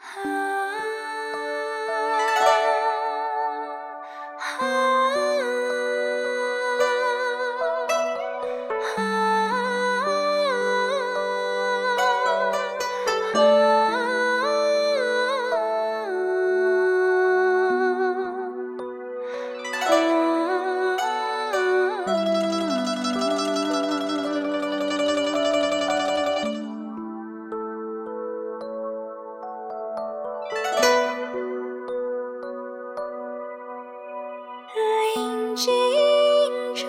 临近城，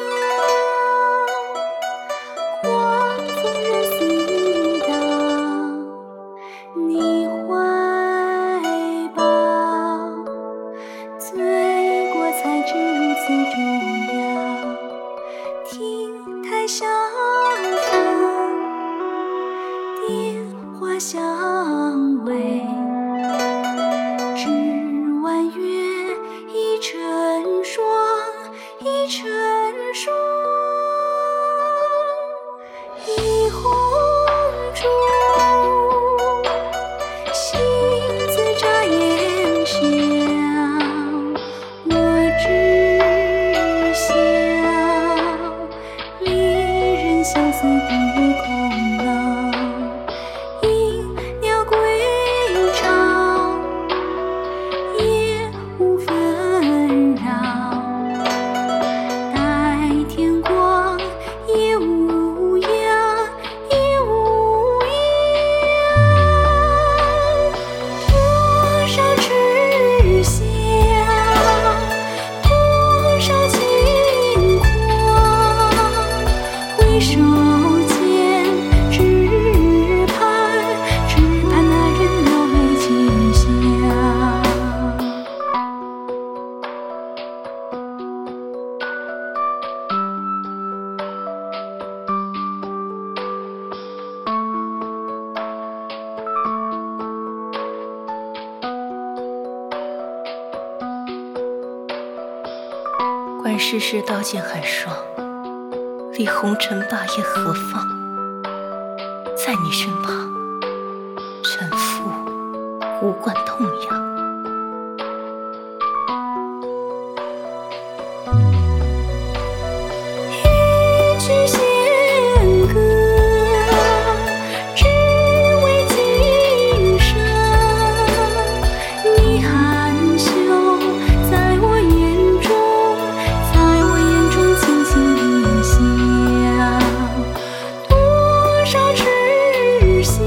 狂风任似刀，你怀抱，醉过才知如此重要。亭台小风，电话相偎，只弯月一成双，一成双，一红烛，星子眨眼笑，我只笑离人相思独空楼，鹰鸟归巢，夜无纷扰，待天光也无恙，也无恙。多少痴笑，多少轻狂，回首间只盼那人描眉轻笑。 观世事刀剑寒霜，离红尘霸业何方？在你身旁，沉浮无关痛痒。 一曲弦歌，只为今生。你含羞在我眼中，在我眼中轻轻一笑。多少痴笑，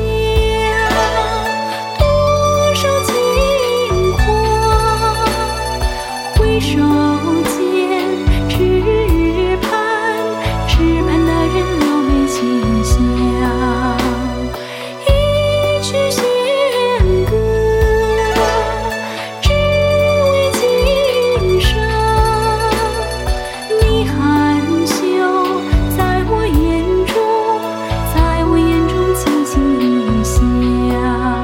多少轻狂，回首间只盼那人描眉轻笑。一曲弦歌，只为今生。你含羞在我眼中，在我眼中轻轻一笑。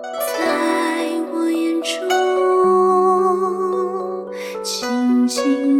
在我眼中，轻轻